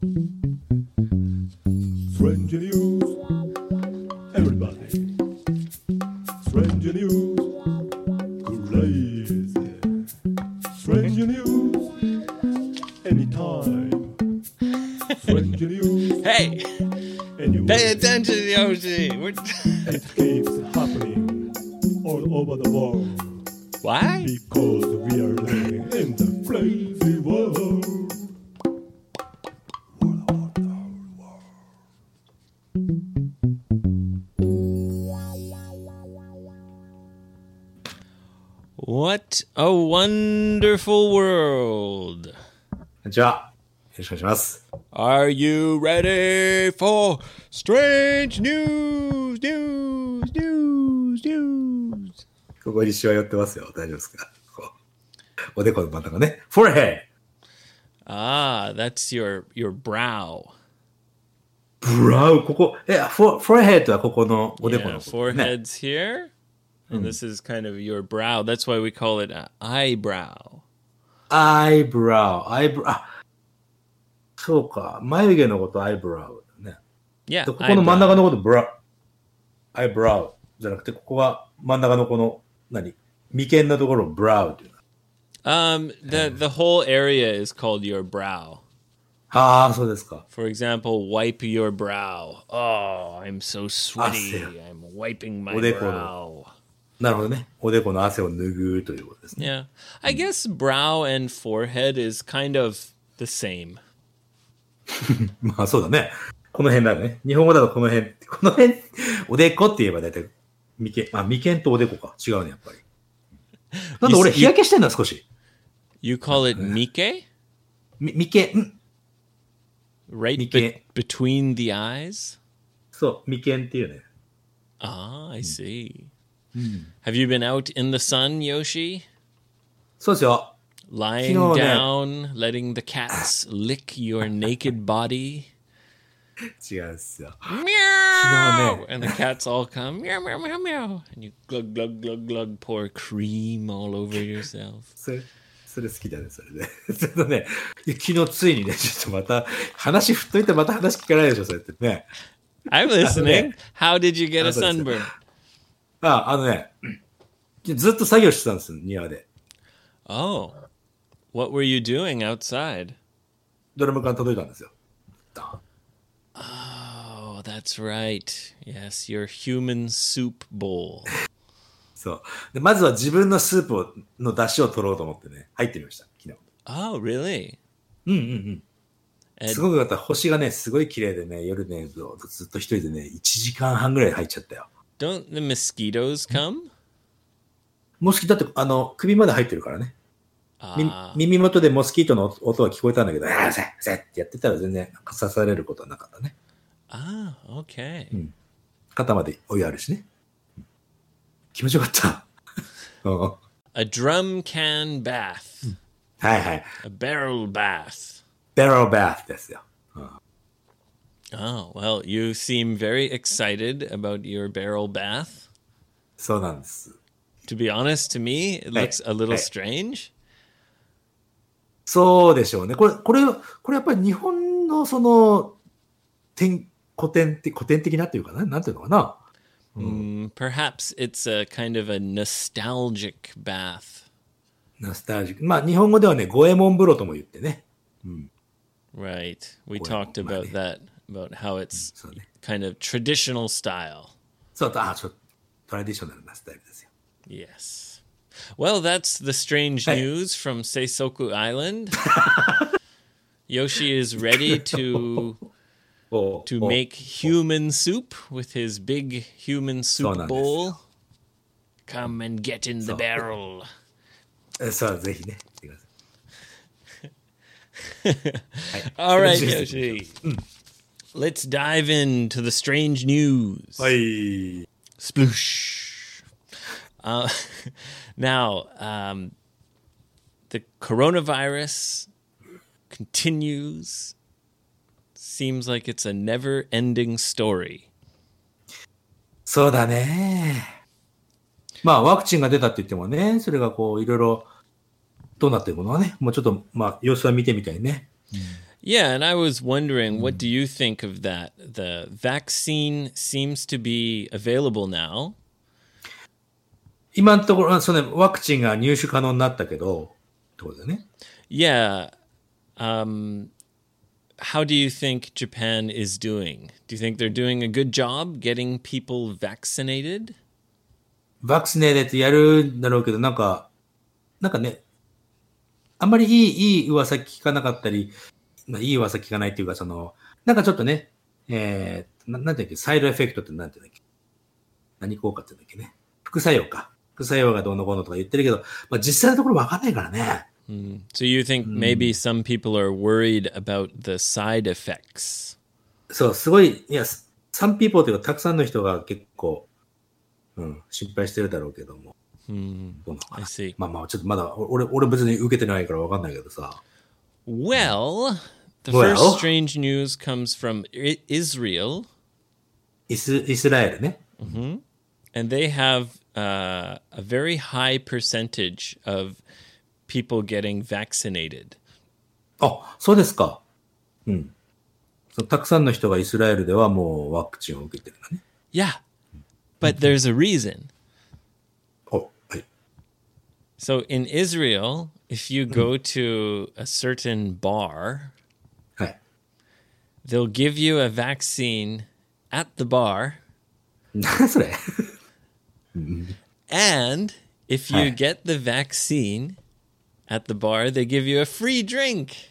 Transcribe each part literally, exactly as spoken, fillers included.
Strange news, everybody. Strange news, crazy. Strange news, anytime. Strange news, Hey, anyway. pay attention, Yoshi. We're It keeps happening all over the world Why? because we are living in the crazy world. What a wonderful world. こんにちは。よろしくお願いします。 Are you ready for strange news, news, news, news? ここにしわ寄ってますよ。大丈夫ですか？こうおでこの真ん中ね。forehead! Ah, that's your your brow. ブラウここ、え、フォ、forehead はここのおでこ Yeah, のことね。 forehead's here, and this is kind of your brow. That's why we call it an eyebrow. eyebrow, eyebrow. あ、そうか。眉毛のこと eyebrow だね。 Yeah, でここの真ん中 eyebrow. のこと brow, eyebrow じゃなくて、ここが真ん中のこの、何眉間のところを brow っていう。 Um, the the whole area is called your brow. ああ、そうですか。 For example, wipe your brow. Oh, I'm so sweaty. Ah, I'm wiping my おでこの。 brow. なるほどね。おでこの汗を拭うということですね。 Yeah. I guess brow and forehead is kind of the same. まあそうだね。この辺だね。日本語だとこの辺、この辺、おでこって言えば大体、眉間、あ、眉間とおでこか。違うね、やっぱり。なんで俺日焼けしてんだ、少し。 You call it mike? み眉間、ん Right be- Mike. between the eyes? そう、眉間っていうね。 Ah, I see. Have you been out in the sun, Yoshi? そうですよ。 Lying Kino ne. down, letting the cats lick your naked body? 違うんですよ。 Meow! ne. And the cats all come, meow, meow, meow, meow. And you glug, glug, glug, glug, pour cream all over yourself. それ、それ好きだね、それで。ちょっとね、いや昨日ついにね、ちょっとまた、話振っといてまた話聞かないでしょ、そうやってね。 I'm listening. How did you get a Ah, so it's- sunburn? あ、あのね、ずっと作業してたんですよ、庭で。 Oh, what were you doing outside? ドラム缶届いたんですよ。 Oh, that's right. Yes, your human soup bowl. そう。で、まずは自分のスープをの出汁を取ろうと思ってね、入ってみました、昨日。 Oh, really? うんうんうん。 And すごくよかった。星がね、すごい綺麗でね、夜ね、ずっと一人でね、いちじかんはんぐらい入っちゃったよ。 don't the mosquitoes come? モスキートって、あの、首まで入ってるからね。み Ah, 耳元でモスキートの音が聞こえたんだけど、ああ、せっせってやってたら全然刺されることはなかったね。 ah, okay. 肩までお湯あるしね。気持ちよかった。うん、 A drum can bath, はいはい。 a barrel bath. ベローバースですよ。 Oh, well, you seem very excited about your barrel bath. そうなんです。 To be honest, to me, it Hey, looks a little hey. strange. そうでしょうね。これ、これ、これやっぱり日本のその、典古典的、古典的なっていうかな、なんていうのかな。 Mm, perhaps it's a kind of a nostalgic bath. ナスタルジック。まあ日本語ではね、五右衛門風呂とも言ってね。 Right. We Well, talked about money. that, about how it's So, ne. kind of traditional style. そう、あ、ちょっと、トラディショナルなスタイルですよ。 Yes. Well, that's the strange Hey. news from Seisoku Island. Yoshi is ready to お to お make human soup with his big human soup そうなんですよ。 bowl. Come and get in the そう。 barrel. えそう、ぜひね。来てください。 All right, それで Yoshi. Let's dive into the strange news. はい。 Sploosh. Uh, now, um, the coronavirus continues. Seems like it's a never ending story. そうだね。まあ、ワクチンが出たって言ってもね、それがこう、いろいろ、どうなっていくのはね、もうちょっと、まあ、様子は見てみたいね。 Yeah, and I was wondering, what do you think of that? The vaccine seems to be available now. 今のところ、その、ワクチンが入手可能になったけど、ってことだよね。 Yeah. Um, how do you think Japan is doing? Do you think they're doing a good job getting people vaccinated? ワクチネーでやるんだろうけど、なんか、なんかね、あんまりいい、いい噂聞かなかったり、まあ、いい噂聞かないっていうか、その、なんかちょっとね、えー、ななんていうっけ、サイドエフェクトってなんていうんだっけ、何効果って言うんだっけね。副作用か。副作用がどうのこうのとか言ってるけど、まあ、実際のところわかんないからね。 Mm. So you think maybe some people are worried about the side effects? そう、すごい、いや、some people というか、たくさんの人が結構、うん、心配してるだろうけども。 Mm. どうなのかな。 I see. まあまあ、ちょっとまだ、俺、俺別に受けてないからわかんないけどさ。 Well, the Well. first strange news comes from I- Israel. イス、イスラエルね。 And they have uh, a very high percentage of people getting vaccinated. あ、そうですか。うん。そうたくさんの人がイスラエルではもうワクチンを受けてるんだね。 Yeah. But there's a reason. お、はい。 So in Israel, if you go to a certain bar, はい。 they'll give you a vaccine at the bar. 何それ And if you Hi. get the vaccine at the bar, they give you a free drink.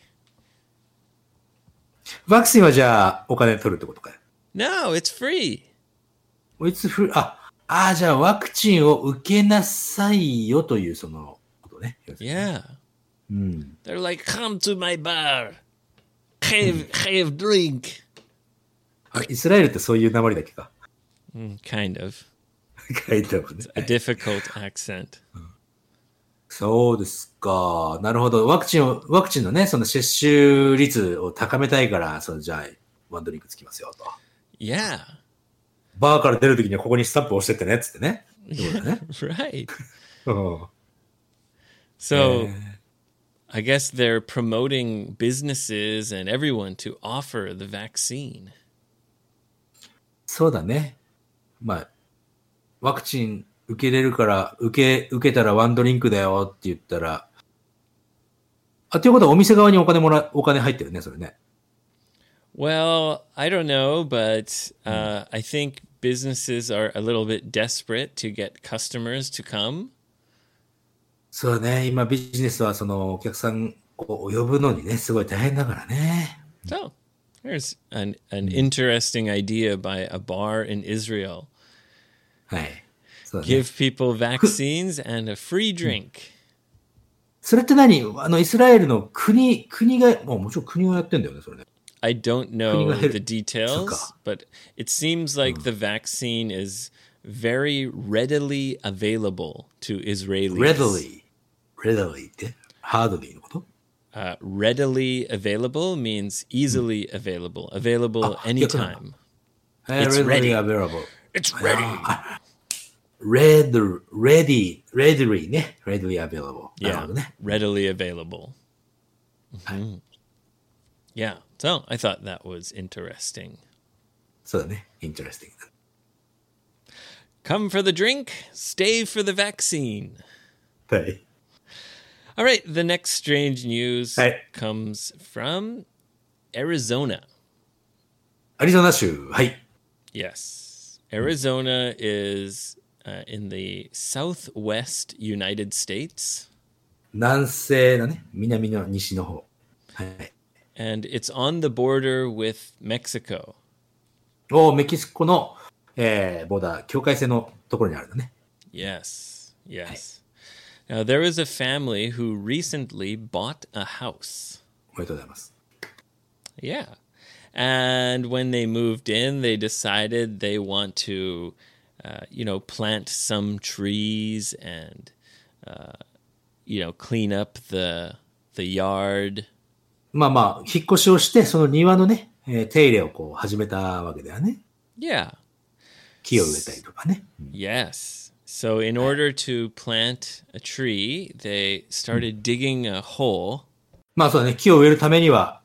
ワクチンはじゃあお金取るってことかよ。 No, it's free. いつふ、あ、ああ、じゃあワクチンを受けなさいよというそのことね。 Yeah. うん。 They're like, come to my bar. Have, have drink. あ、イスラエルってそういう訛りだっけか。 Mm, kind of. 書いてあるね。 A difficult accent. そうですか。なるほど。ワクチンを、ワクチンのね、その接種率を高めたいから、そのじゃあ、ワンドリンクつきますよと。 Yeah. バーから出るときにはここにスタンプ押してってね、つってね。そうだね。 Right. うん So I guess they're promoting businesses and everyone to offer the vaccine. そうだね。まあ、ワクチン受けれるから、受け、受けたらワンドリンクだよって言ったら、あ、ということはお店側にお金もら、お金入ってるね、それね。 Well, I don't know, but uh, I think businesses are a little bit desperate to get customers to come. そうね、今ビジネスはそのお客さんを呼ぶのにね、すごい大変だからね。 So there's an, an interesting idea by a bar in Israel. はい。そうだね。 Give people vaccines and a free drink. それって何あの、イスラエルの国、国が、もうもちろん国がやってんだよね、それね。 I don't know 国が減る。 the details, Suka. but it seems like the vaccine is very readily available to Israelis. readily. readily って hardly のこと Uh, readily available means easily available, available Ah, anytime. えー It's readily ready. available. It's ready. Red, ready, readily ね。readily available. なる Yeah, ほどね。 readily available. Mhm. Yeah, so I thought that was interesting. そうだね。interesting. Come for the drink, stay for the vaccine. はい。 All right, the next strange news Hey. comes from Arizona. アリゾナ州。はい。 Yes. Arizona is uh, in the southwest United States, 南西だね。南の西の方。はい。 and it's on the border with Mexico. おメキシコの、えー、ボーダー、境界線のところにあるんだね。 Yes, yes. Now, there was a family who recently bought a house. おめでとうございます。 Yeah. And when they moved in, they decided they want to, uh, you know, plant some trees and, uh, you know, clean up the the yard. まあまあ、引っ越しをして、その庭のね、えー手入れをこう始めたわけだよね。 Yeah. 木を植えたりとかね。 Yes. So in order to plant a tree, they started digging a hole. まあそうだね、木を植えるためには、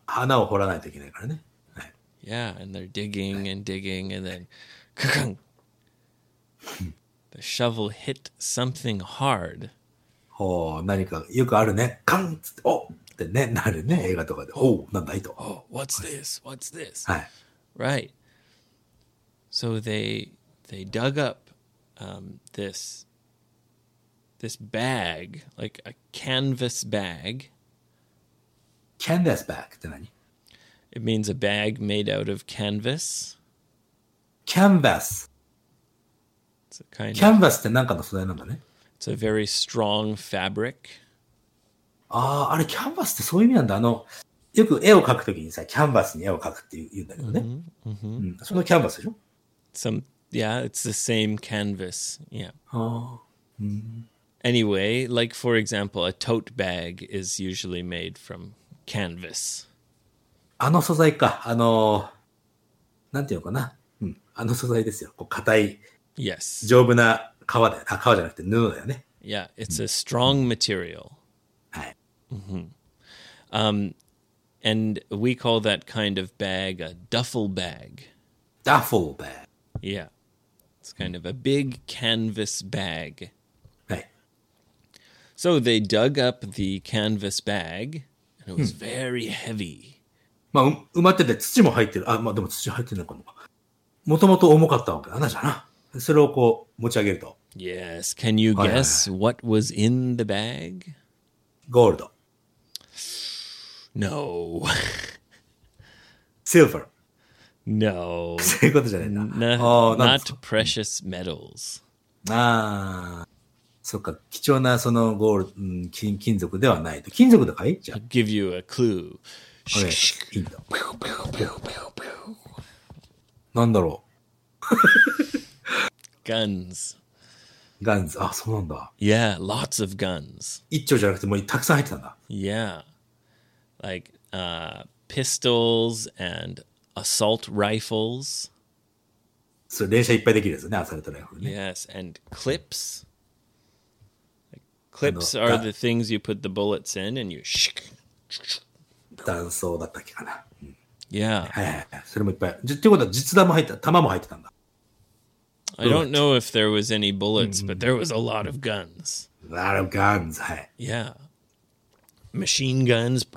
穴を掘らないといけないからね。はい。 Yeah, and they're digging and digging, and then ka-kung, the shovel hit something hard. ほう、何かよくあるね。カンっつって、おってね、なるね。映画とかで。おう、なんだいと。 Oh, what's this? What's this? はい。 Right. So they they dug up um, this this bag, like a canvas bag. Canvas bag って何？ It means a bag made out of canvas. Canvas。 It's a kind of Canvas って何かの素材なんだね。 it's a very strong fabric. ああ、あれ、キャンバスってそういう意味なんだ。あの、よく絵を描くときにさ、キャンバスに絵を描くって言うんだけどね。うん、そのキャンバスでしょ？ Some yeah, it's the same canvas. Yeah. ああ。 Anyway, like for example, a tote bag is usually made from canvas. あの素材か。あの、なんていうのかな。うん。あの素材ですよ。こう、硬い、 Yes. 丈夫な革だよ。あ、革じゃなくて布だよね。 Yeah, it's a strong material. はい。 Um, and we call that kind of bag a duffel bag. Duffel bag. Yeah. It's kind of a big canvas bag. はい。 So they dug up the canvas bag, and it was very heavy. まあ、う埋まってて土も入ってる。あ、まあでも土入ってないかも。もともと重かったわけだな、じゃあな。それをこう持ち上げると。 Yes. Can you Aye, aye, guess what was in the bag? ゴールド。 No. シルバー。 No. そういうことじゃないんだ。 No, ああ、なん not precious metals. ああ、そっか、貴重なそのゴール、うん、金、金属ではないと。金属だかい？じゃあ。 I'll give you a clue. これ、ヒント。なんだろ Guns. う。ガンズ。あ、そうなんだ。 Yeah, lots of guns. 一丁じゃなくてもうたくさん入ってたんだ。 Yeah. Like uh, pistols and assault rifles. それ連射いっぱいできるやつね、アサルトライフルね。 Yes, and clips. Like, clips Ano, are da- the things you put the bullets in and you shk. 弾倉だったっけかな。 Yeah. はいはいはい。それもいっぱい。じっていうことは実弾も入った、弾も入ってたんだ。 I don't know if there was any bullets, but there was a lot of guns. A lot of guns. はい。 Yeah. Machine guns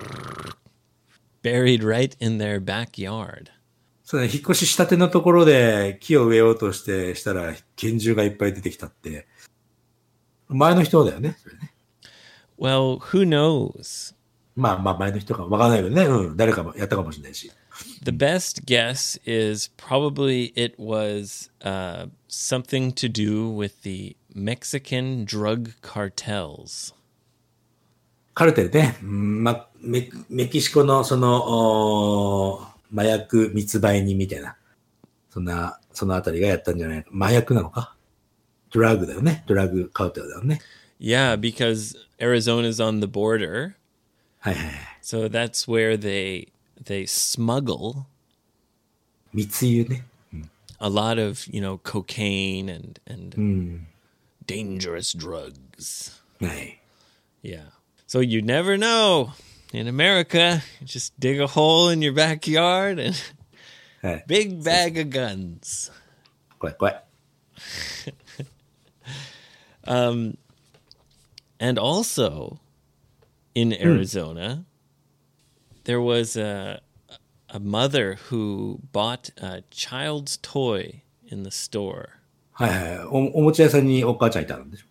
buried right in their backyard. そうね、引っ越ししたてのところで木を植えようとしてしたら拳銃がいっぱい出てきたって。前の人だよね、それね。 Well, who knows? まあまあ前の人かわからないけどね。うん。誰かもやったかもしれないし。 The best guess is probably it was uh, something to do with the Mexican drug cartels. カルテルね。うんま、メ, メキシコのその、お麻薬密売人みたいな。そんな、そのあたりがやったんじゃないか。麻薬なのか？ドラッグだよね。ドラッグカルテルだよね。 Yeah, because Arizona's on the border. はいはいはい。 So that's where they they smuggle 密輸ね。 a lot of, you know, cocaine and and うん。 dangerous drugs. はい。 Yeah. So you never know. In America, you just dig a hole in your backyard and はい。 big bag of guns. 怖い怖い。 And also in Arizona, there was a a mother who bought a child's toy in the store. はいはいはい。お、おもちゃ屋さんにお母ちゃんいたんでしょ。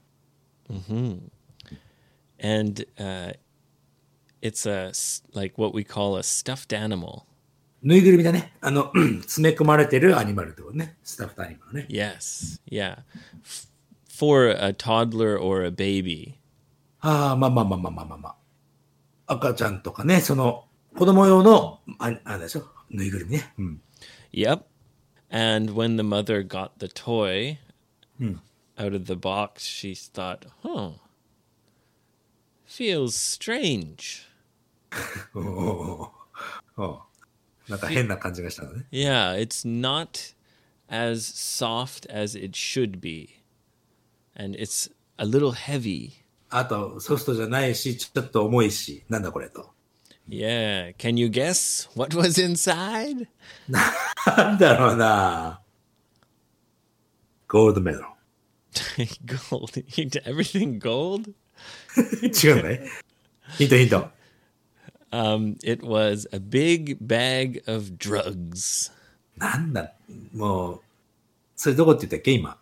And uh, it's a s- like what we call a stuffed animal. ぬいぐるみだね。あの、詰め込まれてるアニマルってことね。スタッフアニマルね。 Yes, yeah. F- for a toddler or a baby. ああ、まあまあまあまあまあまあまあ。赤ちゃんとかね、その、子供用の、あ、あれでしょ。ぬいぐるみね。うん。 Yep. And when the mother got the toy out of the box, she thought, huh, feels strange. おおおおなんか変な感じがしたのね。 Yeah, it's not as soft as it should be. And it's a little heavy. あと、ソフトじゃないし、ちょっと重いし、なんだこれと。 Yeah. Can you guess what was inside? なんだろうな。ゴールドメダル。 Gold. Everything gold? 違うんだね。ヒントヒント。 Um, it was a big bag of drugs. なんだ、もう、それどこって言ったっけ今。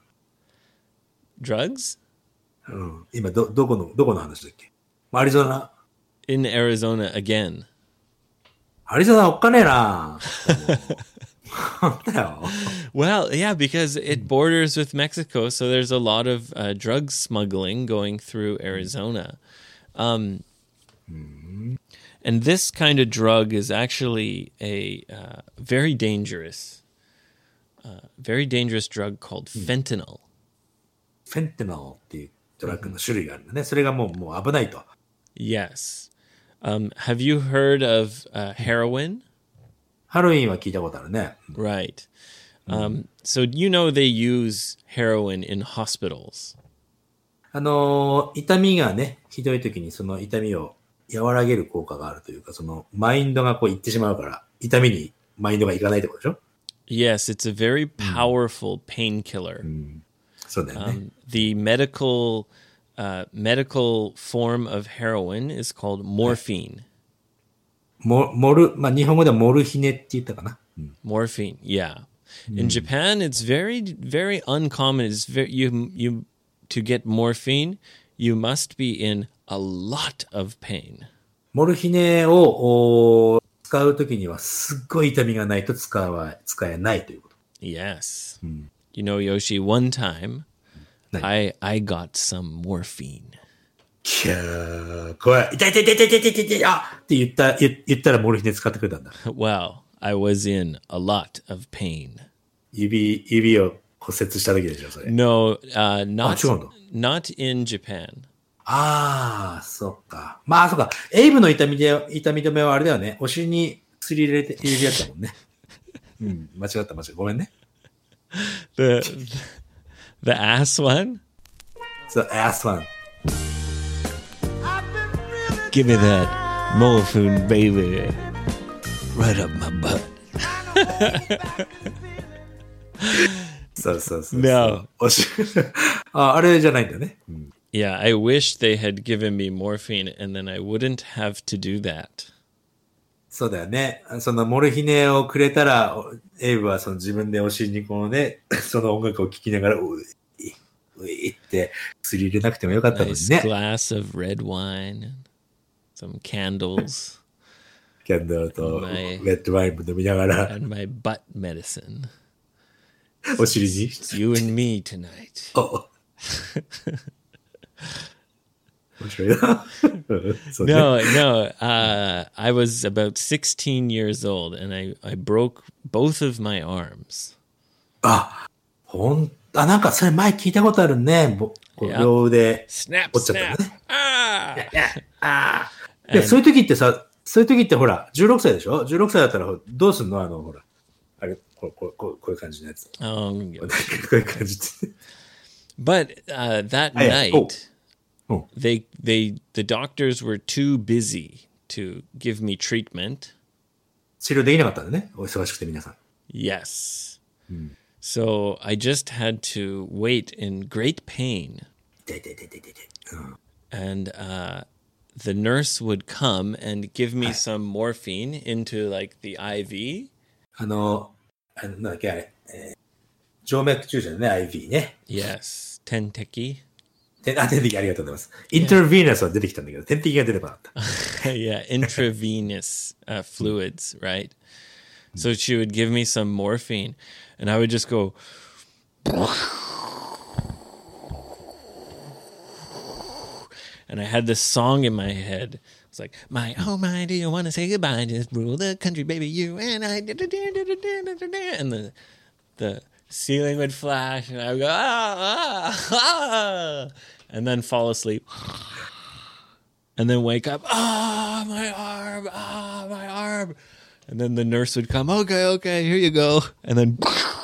Drugs? うん。今、ど、どこの、どこの話だっけアリゾナ。 In Arizona again. アリゾナおっかねえな。なんだよ。 Well, yeah, because it borders with Mexico, so there's a lot of uh, drug smuggling going through Arizona. Um, and this kind of drug is actually a uh, very dangerous, uh, very dangerous drug called fentanyl. フェンテナルっていうドラッグの種類があるんだね。それがもう、もう危ないと。 Yes. Um, have you heard of uh, heroin? ハロウィンは聞いたことあるね。 Right. Um, so you know they use heroin in hospitals. あのー、痛みがね、ひどい時にその痛みを和らげる効果があるというか、そのマインドがこういってしまうから、痛みにマインドがいかないってことでしょ？ Yes, it's a very powerful painkiller. そうだよね。 Um, the medical uh, medical form of heroin is called morphine. モモル、まあ日本語ではモルヒネって言ったかな。 Morphine, yeah. In Japan, it's very very uncommon. It's very you you to get morphine, you must be in a lot of pain. モルヒネをお使うときにはすっごい痛みがないと使わ使えないということ。 Yes. You know, Yoshi, one time 何 I I got some morphine. キャー、怖い。痛い痛い痛い痛い痛い痛い痛いあって言った、言言ったらモルヒネ使ってくれたんだ。 Well, I was in a lot of pain. 指、指を骨折した時でしょ、それ。 No, uh, not あ、違うんだ。 not in Japan. ああ、そっか。まあ、そっか。エイブの痛みで、痛み止めはあれだよね。お尻に薬入れて、入れるやつだもんね。うん、間違った間違った。ごめんね。 The the ass one? そう、アスワン。 Give me that morphine, baby. Right up my butt. そうそうそうそう。 No. おしあ、あれじゃないんだね。うん Yeah, I wish they had given me morphine and then I wouldn't have to do that. そうだよね。そのモルヒネをくれたら、おエイブはその自分でお尻にこうね、その音楽を聴きながら、うい、ういって薬入れなくてもよかったのに Nice ね。 glass of red wine and some candles キャンドルとうまいレッドワインも飲みながら、 and my butt medicine. お尻に。 It's you and me tonight. お面白いな。そうね No, no. Uh, I was about sixteen years old and I, I broke both of my arms. あ、ほん、あ、なんかそれ前聞いたことあるね。ぼこう Yeah. 両腕 Snap, 折っちゃった snap. のね。 Ah! ああ。で、そういう時ってさ、そういう時ってほら、じゅうろくさいでしょ ?じゅうろく 歳だったらどうすんのあの、ほら。あれ、こう、こう、こうこういう感じのやつ。 Oh, こういう感じって。 but uh, that Hey, night, oh. Oh. they they the doctors were too busy to give me treatment. 治療できなかったんだね。お忙しくて皆さん。 Yes. So I just had to wait in great pain, 痛い痛い痛い痛い痛い痛い。うん and uh, the nurse would come and give me some morphine into like the I V. あの、あのなんだっけあれ、えー静脈注射のね、アイブイ ね。 Yes, tenteki. てあ、点滴ありがとうございます。インターヴィーナスは出てきたんだけど、点滴が出てこなかった。 Yeah, intravenous uh, fluids, right? So she would give me some morphine, and I would just go. And I had this song in my head. It's like, my, oh my, do you want to say goodbye? Just rule the country, baby, you and I. And the, the ceiling would flash, and I would go, ah, ah, ah, and then fall asleep. And then wake up, ah, my arm, ah, my arm. And then the nurse would come, okay, okay, here you go. And then.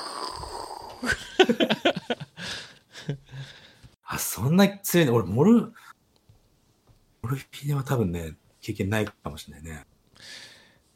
あ、そんな強いの俺、モル、モルヒネは多分ね、経験ないかもしれないね。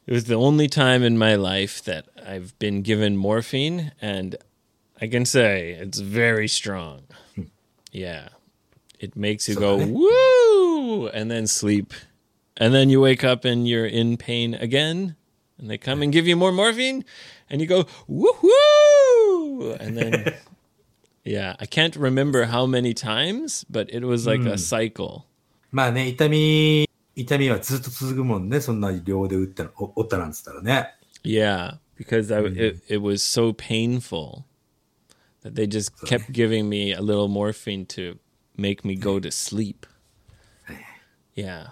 It was the only time in my life that I've been given morphine, and I can say it's very strong. Yeah. It makes you go, woo, and then sleep. And then you wake up and you're in pain again, and they come and give you more morphine, and you go, woo-hoo! And then, yeah, I can't remember how many times, but it was like a cycle. まあね、痛み、痛みはずっと続くもんね。そんな両で打ったら、お折ったなんつったらね。 Yeah, because I, it, it was so painful that they just kept giving me a little morphine to make me go to sleep. Yeah.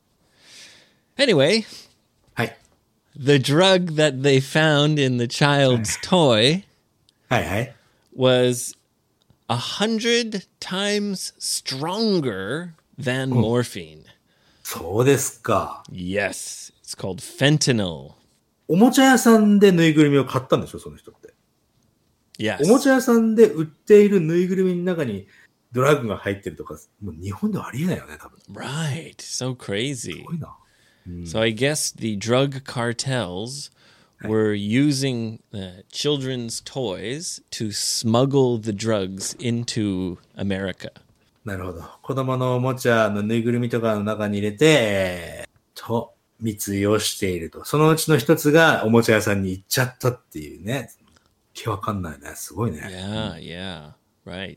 Anyway, はい。 the drug that they found in the child's toy はいはい。 was a hundred times stronger than morphine. そうですか。 Yes, it's called fentanyl. おもちゃ屋さんでぬいぐるみを買ったんでしょ、その人って。 Yes. おもちゃ屋さんで売っているぬいぐるみの中にドラッグが入ってるとか、もう日本ではありえないよね、多分。 Right. So crazy. すごいな。 So I guess the drug cartels were using uh, children's toys to smuggle the drugs into America. なるほど。子供のおもちゃのぬいぐるみとかの中に入れて、えー、と、密輸をしていると。そのうちの一つがおもちゃ屋さんに行っちゃったっていうね。気わかんないね。すごいね。 Yeah, yeah, right.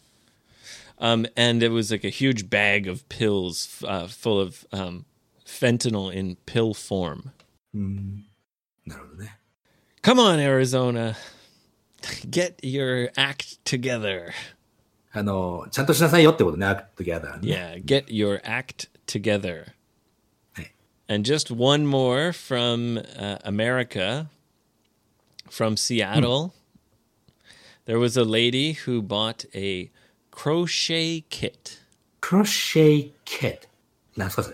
Um, and it was like a huge bag of pills uh, full of um, fentanyl in pill form. なるほどね。 Come on, Arizona. Get your act together. あの、ちゃんとしなさいよってことね。アクトギャダーね。 Yeah, get your act together. はい。 And just one more from uh, America, from Seattle. There was a lady who bought a crochet kit. クロシェイキット。何すかそれ。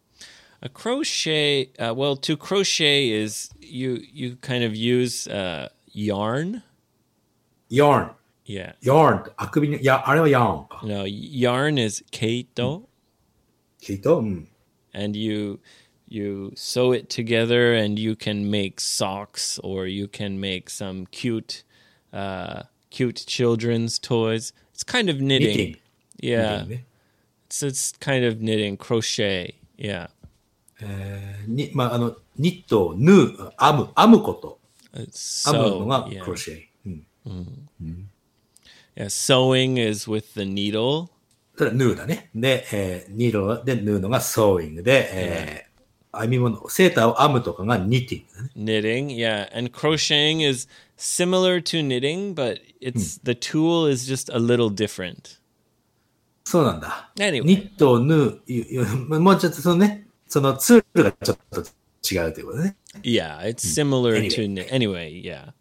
A crochet, uh, well, to crochet is you you kind of use uh, yarn. ヤーン。 Yeah. ヤーンって、あくびに、いや、あれはヤーンか。 No, yarn is keito, きっとうん。 and you you sew it together, and you can make socks, or you can make some cute uh, cute children's toys. It's kind of knitting. Knitting. Yeah. ね。 It's it's kind of knitting, crochet. Yeah. えーに、まあ、あの、ニット、縫う、編む、編むこと。 It's 編むの sew. が Yeah. クロシェイ。うん。 Yeah. Sewing is with the needle. それは縫うだね。で、えー、ニードで縫うのがソーイングで、えー、編み物、セーターを編むとかがニッティングだね。 Knitting, yeah. And crocheting is similar to knitting, but it's the tool is just a little different. そうなんだ。 Anyway. ニットを縫う、ゆゆもうちょっとそのね、そのツールがちょっと違うということね。 Yeah, it's similar Anyway. to knit. Anyway, yeah.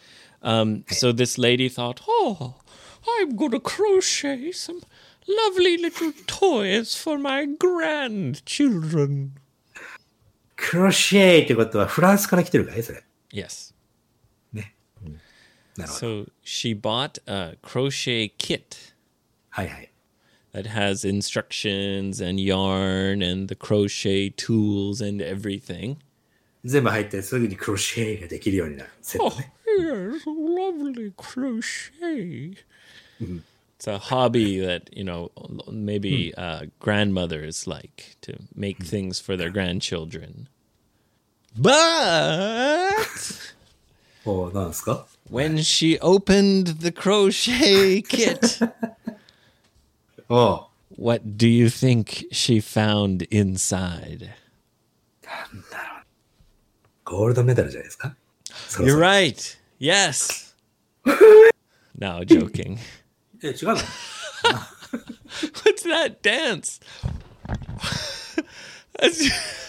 Um, so this lady thought, oh, I'm going to crochet some lovely little toys for my grandchildren. クロシェイってことはフランスから来てるかいそれ。 Yes. ね。うん、なるほど。 So she bought a crochet kit はいはい。 that has instructions and yarn and the crochet tools and everything. 全部入ってすぐにクロシェイができるようになる。セット Oh, ね。 yes, lovely crochet. It's a hobby that, you know, maybe uh, grandmothers like to make things for their grandchildren. But おー、なんですか when she opened the crochet kit, おー。 what do you think she found inside? ゴールドメダルじゃないですかそろ You're そろ right. Yes. No, joking. え、違うの What's that dance? That's-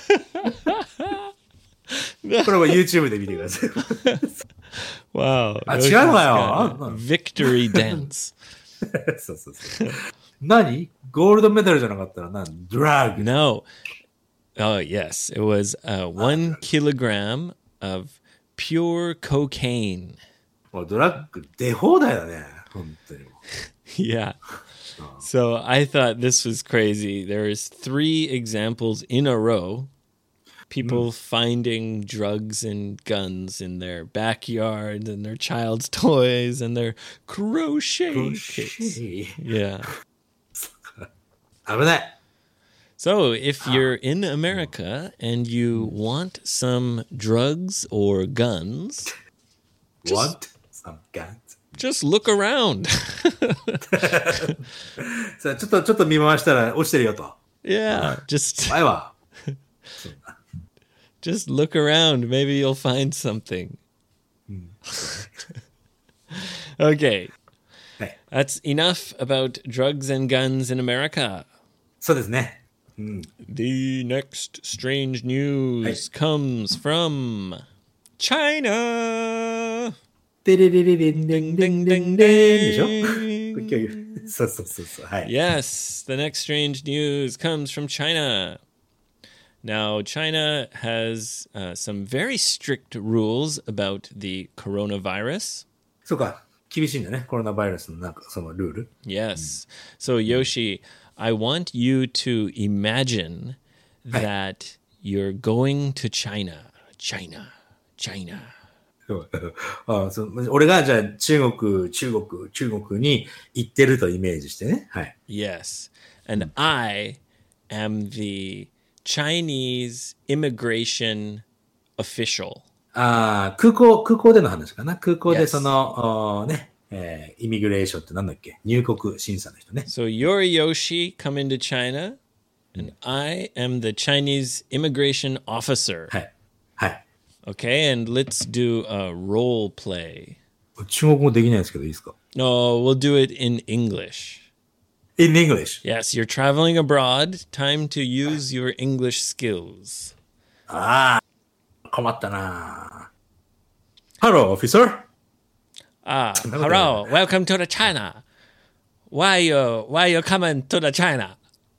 これは YouTube で見てください。 wow. あ、 Yoshi's 違うのかよ。 got あ a victory dance. そうそうそう。何ゴールドメダルじゃなかったら何ドラッグ。 No. Oh, yes. It was uh, one kilogram of pure cocaine. もうドラッグ出放題だね。本当に。 Yeah. So I thought this was crazy. There's three examples in a row. people finding drugs and guns in their backyard and their child's toys and their crochet kits. Yeah. 危ない。 So if you're in America and you want some drugs or guns, Want some guns? just look around. さあちょっと、ちょっと見回したら落ちてるよと。 Yeah, just 前は。 just look around. Maybe you'll find something. Okay. はい。 That's enough about drugs and guns in America. そうですね。 The next strange news comes from China. でれれれれんでんでんでんでんでしょ今日そうそうそうそう。はい。 Yes, the next strange news comes from China. Now, China has uh, some very strict rules about the coronavirus. そうか。厳しいんだね。コロナバイルスのなんかそのルール。 Yes. So, Yoshi, I want you to imagine that you're going to China. China. China. ああそう俺がじゃあ中国、中国、中国に行ってるとイメージしてね。はい。 Yes. And I am the Chinese immigration official. ああ、空港、空港での話かな。空港 Yes. でその、おね、えー、イミグレーションってなんだっけ入国審査の人ね。 So you're Yoshi, come into China, and I am the Chinese immigration officer. はい。はい。 Okay, and let's do a role play. 中国語できないですけどいいですか No, we'll do it in English. ?In English. Yes, you're traveling abroad. Time to use your English skills. ああ、困ったな。Hello, officer. Ah, hello, welcome to the China. Why you why you coming to the China?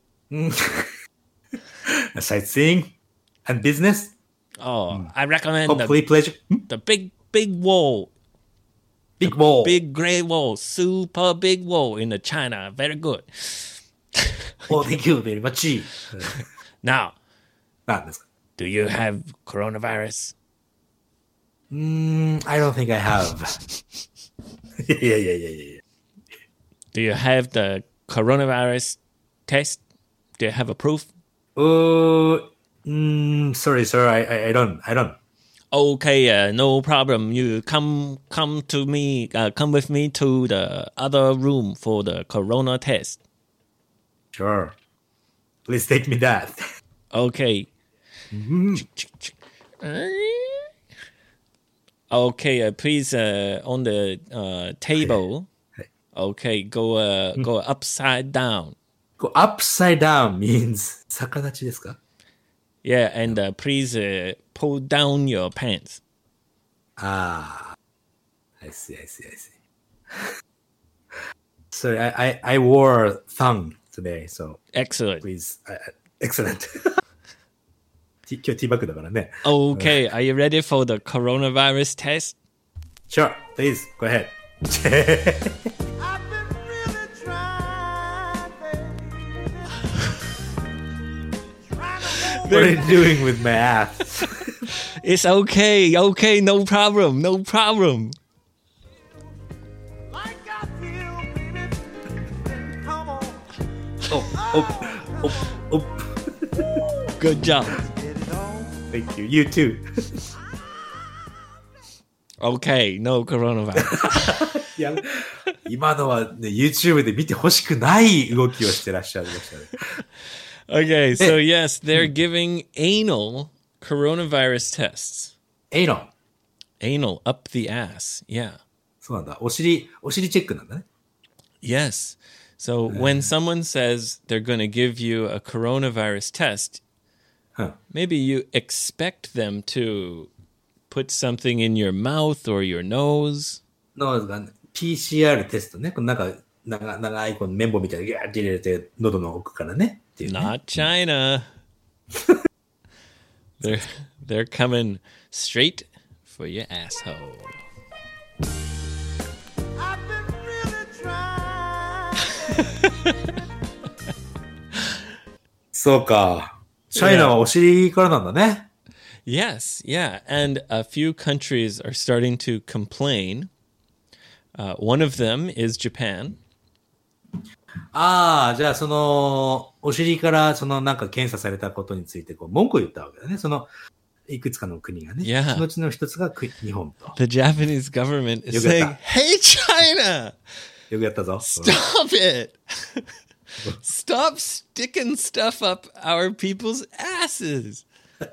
Sightseeing and business. Oh, I recommend Hopefully the, pleasure. the big big wall, Big wall. big gray wall, super big wall in the China. Very good. Oh, thank you very much. Now, なんですか do you have coronavirus? Mm, I don't think I have. いやいやいやいや。 Do you have the coronavirus test? Do you have a proof? Oh, mm, sorry, sir. I, I, I don't. I don't. Okay, uh, no problem. You come come to me. Uh, come with me to the other room for the corona test. Sure. Please take me that. Okay. Okay, uh, please uh, on the uh, table. Okay, go uh, go upside down. Go upside down means 逆立ちですか Yeah, and uh, please uh, pull down your pants. Ah, I see, I see, I see. Sorry, I, I, I wore thong today, so Excellent. please, uh, excellent. 今日ティーバッグだからね。 Okay, are you ready for the coronavirus test? Sure, please, go ahead. I've been really trying, baby. Trying to hold What are you doing with my ass? It's okay, okay, no problem, no problem. like I feel, baby. Then come on, Oh, oh, oh, oh. Good job. get it on. Thank you. You too. Okay, no coronavirus. いや今のはね、YouTube で見てほしくない動きをしてらっしゃいましたね。 Okay, so yes, they're giving anal coronavirus tests. エイロン。 Anal up the ass. Yeah. そうなんだ。お尻、お尻チェックなんだね。 Yes. So when someone says they're going to give you a coronavirus test, うん。 maybe you expect them to put something in your mouth or your nose. のが ピーシーアール テストね。このなんか、長長いこの綿棒みたいにギャーって入れて、喉の奥からね。っていうね。 Not China. they're they're coming straight for your asshole. I've been really trying. そうか。チャイナはお尻からなんだね。 Yes, yeah. And a few countries are starting to complain. Uh, one of them is Japan. ああ、じゃあその、お尻からそのなんか検査されたことについてこう文句を言ったわけだね。その、いくつかの国がね。 Yeah. そのうちの一つがく日本と。 The Japanese government is よくや saying, った。 hey, China, よくやったぞ。 stop it. Stop sticking stuff up our people's asses.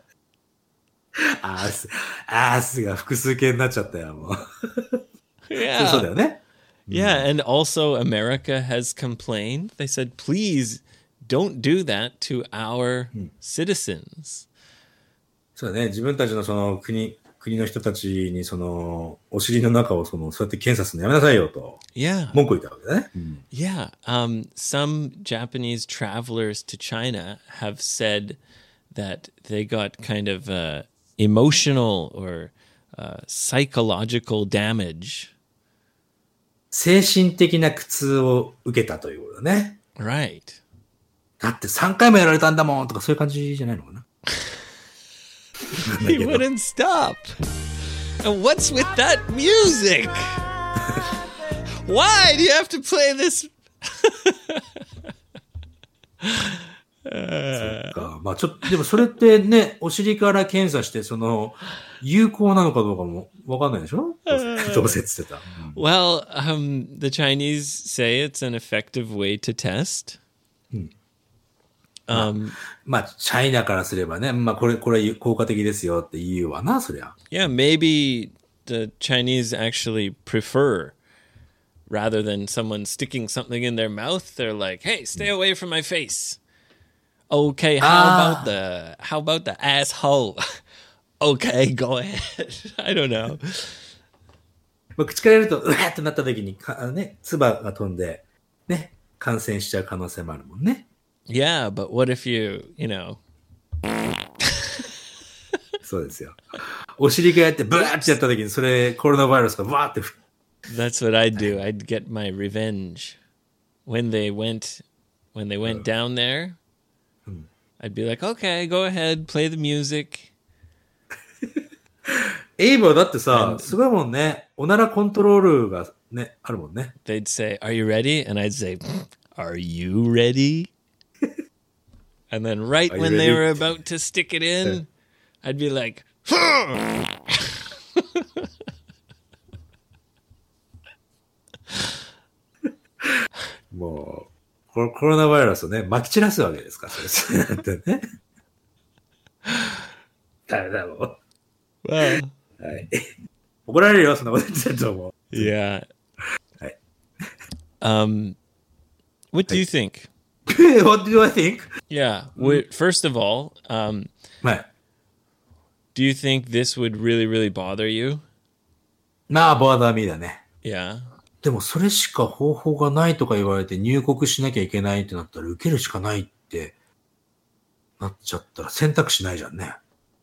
アース、アースが複数形になっちゃったよ、もう。 Yeah. そうだよね。 Yeah, and also America has complained. They said, please don't do that to our citizens. そうだね。自分たちのその国、国の人たちにその、お尻の中をその、そうやって検査するのやめなさいよと、 Yeah. 文句を言ったわけだね。うん Yeah. Um, some Japanese travelers to China have said that they got kind of uh, emotional or uh, psychological damage. 精神的な苦痛を受けたということだね。 Right. だってさんかいもやられたんだもんとかそういう感じじゃないのかな。 He wouldn't stop. And what's with that music? Why do you have to play this? かまあちょっと、でもそれってね、お尻から検査して、その、有効なのかどうかもわかんないでしょどうせって言ってた。うん Well, um, the Chinese say it's an effective way to test. Um, まあ、チャイナからすればね、まあこれ、これ効果的ですよって言うわな、そりゃ。 yeah, maybe the Chinese actually prefer, rather than someone sticking something in their mouth, they're like, hey, stay away from my face. Okay, how Ah. about the, how about the asshole? Okay, go ahead. I don't know. まあ口からやると、うわーってなった時に、かあのね、唾が飛んで、ね、感染しちゃう可能性もあるもんね。 Yeah, but what if you, you know, そうですよ。お尻がやって、ブワーってやった時に、それ、コロナウイルスがブワーってふ、 that's what I'd do. I'd get my revenge. When they went, when they went down there, I'd be like, okay, go ahead, play the music. エイブはだってさ、すごいもんね。おならコントロールがね、あるもんね。 They'd say, are you ready? And I'd say, are you ready? And then right Are you when they ready? were about to stick it in, I'd be like, もう、コロコロナウイルスをね、撒き散らすわけですから、それ、そうやってね。ダメだもん。 well, はい。怒られるよ、そんなこと言ってると思う。 yeah. Right. Um, what do you think? What do I think? Yeah. Wait, first of all, um, はい。 do you think this would really, really bother you? まあ、ボーダーミーだね。 Yeah. でも、それしか方法がないとか言われて入国しなきゃいけないってなったら、受けるしかないってなっちゃったら選択肢ないじゃんね。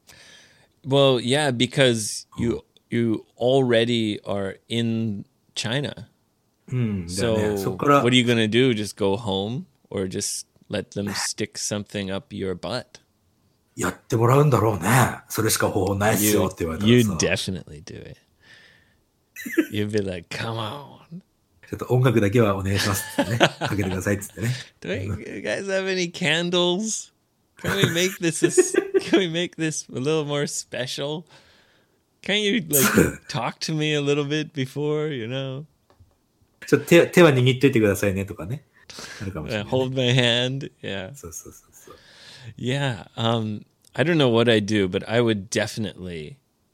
Well, yeah, because you you already are in China. うん。だよ So ね。そっから、 what are you going to do? Just go home or just let them stick something up your butt? やってもらうんだろうね。それしか方法ないっす You, よって言われた you'd らさ。 definitely do it. You'd be like, come on. ちょっと音楽だけはお願いしますってね。かけてくださいっつってね。 Do we, you guys have any candles? Can we make this a s can we make this a little more special? Can't you like talk to me a little bit before, you know? ちょっと手手は握っといてくださいねとかね。あるかもしれ Uh, ない、 hold my hand. Yeah. そうそうそうそう。 Yeah. Um, I don't know what I do, but I would definitely,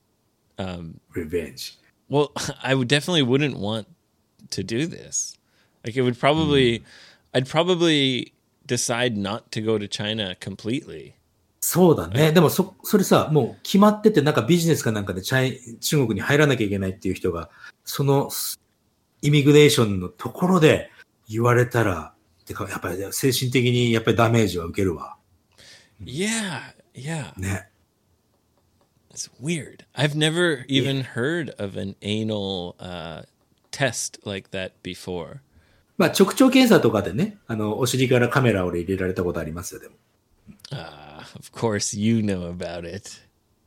Revenge. well, I would definitely wouldn't want to do this. Like it would probably, I'd probably decide not to go to China completely. そうだね。でもそ、それさ、もう決まってて、なんかビジネスかなんかでチャイ中国に入らなきゃいけないっていう人が、そのイミグレーションのところで言われたら、てか、やっぱり精神的にやっぱりダメージは受けるわ。 Yeah. Yeah. ね。 It's weird. I've never even heard of an anal uh, test like that before. まあ、直腸検査とかでね、あの、お尻からカメラを入れられたことありますよ、でも。 Uh, of course, you know about it.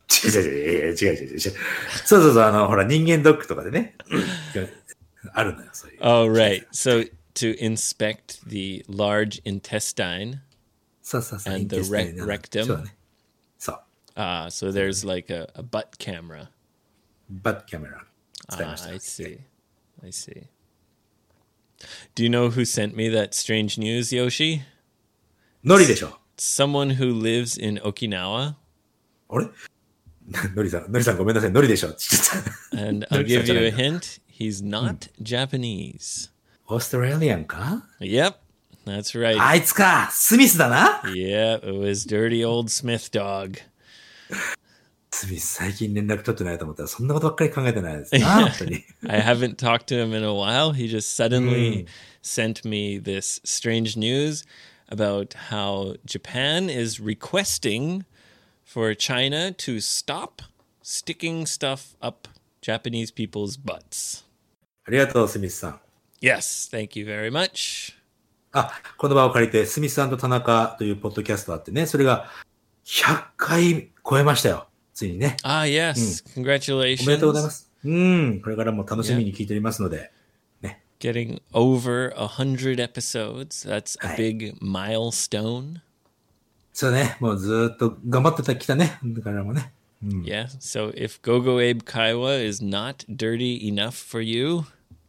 違う違う違う違う違う違う違う。そうそうそう、あの、ほら、人間ドックとかでね、あるのよ、そういう。 Oh, right. So to inspect the large intestine, そうそうそう。 and the インテスタイン rec- な rectum. そうだね。そう。 ah, so there's like a, a butt camera. バットキャメラ使い Ah, ました。 I see. I see. Do you know who sent me that strange news, Yoshi? ノリでしょ。 Someone who lives in Okinawa. あれノリさん、ノリさんごめんなさい、ノリでしょ。ちょっと And I'll ノリさん give じゃ you な a いの hint. He's not Japanese. オーストラリアンか Yep, that's right. あいつか、スミスだな。 Yeah, it was dirty old Smith dog. スミス最近連絡取ってないと思ったら、そんなことばっかり考えてないですな、本当に。 I haven't talked to him in a while. He just suddenly sent me this strange news about how Japan is requesting for China to stop sticking stuff up Japanese people's butts. ありがとう、スミスさん。 Yes, thank you very much. あ、この場を借りて、スミスさんと田中というポッドキャストあってね、それがひゃっかい超えましたよ。ついにね。 Ah, yes. おめでとうございま Congratulations. す。うん。これからも楽しみに聞いておりますので。ね。 Getting over a hundred episodes. That's a Hi. big milestone. そうね。もうずーっと頑張ってきたね。だからもね。 Yeah. So if Gogo Abe Kaiwa is not dirty enough for you,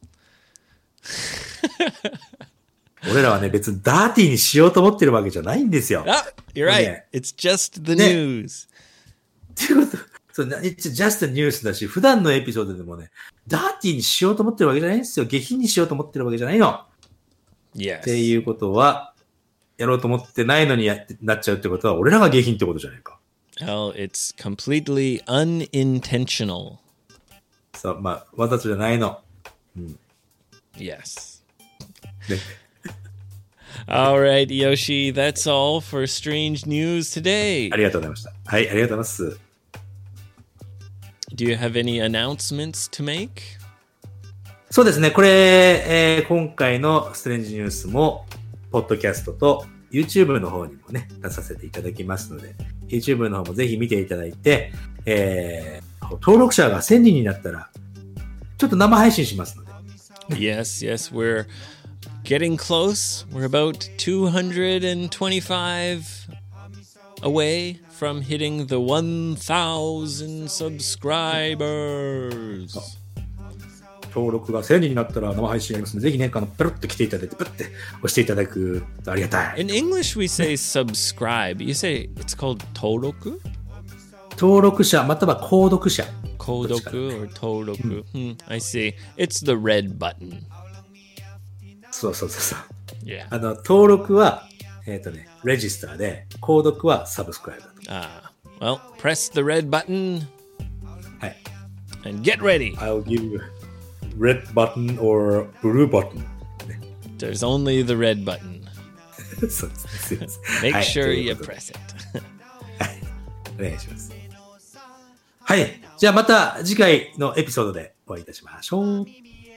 俺らはね、別にダーティーにしようと思ってるわけじゃないんですよ。 ah, you're right. Yeah. It's just the Yeah. news. っていうこと、そう、な It's just a news だし、普段のエピソードでもね、ダーティーにしようと思ってるわけじゃないんですよ。下品にしようと思ってるわけじゃないの。っ Yes. ていうことは、やろうと思ってないのにやってなっちゃうってことは、俺らが下品ってことじゃないか。 Well, it's completely unintentional. そう、まあ、わざとじゃないの。 Yes. ね All right, Yoshi. That's all for strange news today. ありがとうございました。はい、ありがとうございます。 Do you have any announcements to make? そうですね、これ、えー今回のストレンジニュースも、ポッドキャストと YouTube の方にもね、出させていただきますので、YouTube の方もぜひ見ていただいて、えー登録者がせんにんになったら、ちょっと生配信しますので、 Yes, yes. We're getting close. We're about two hundred twenty-five away from hitting the one thousand subscribers. 登録がせんにんになったら生配信やりますので、ぜひね、あの、ペロッと来ていただいて、ペロッて押していただくとありがたい。 In English, we say subscribe. You say it's called toroku? 登録者、または購読者。 Kodoku or toroku. Hmm, I see. It's the red button. そうそうそうそう。 Yeah. あの、登録は、えっ、とね、レジスターで、購読はサブスクライブだと。 Ah, well, press the red button はい。 and get ready. I'll give you red button or blue button. There's only the red button. そうですね。すいません。 Make はい sure とい you うことで press it. お願いします。はい。じゃあまた次回のエピソードでお会いいたしましょう。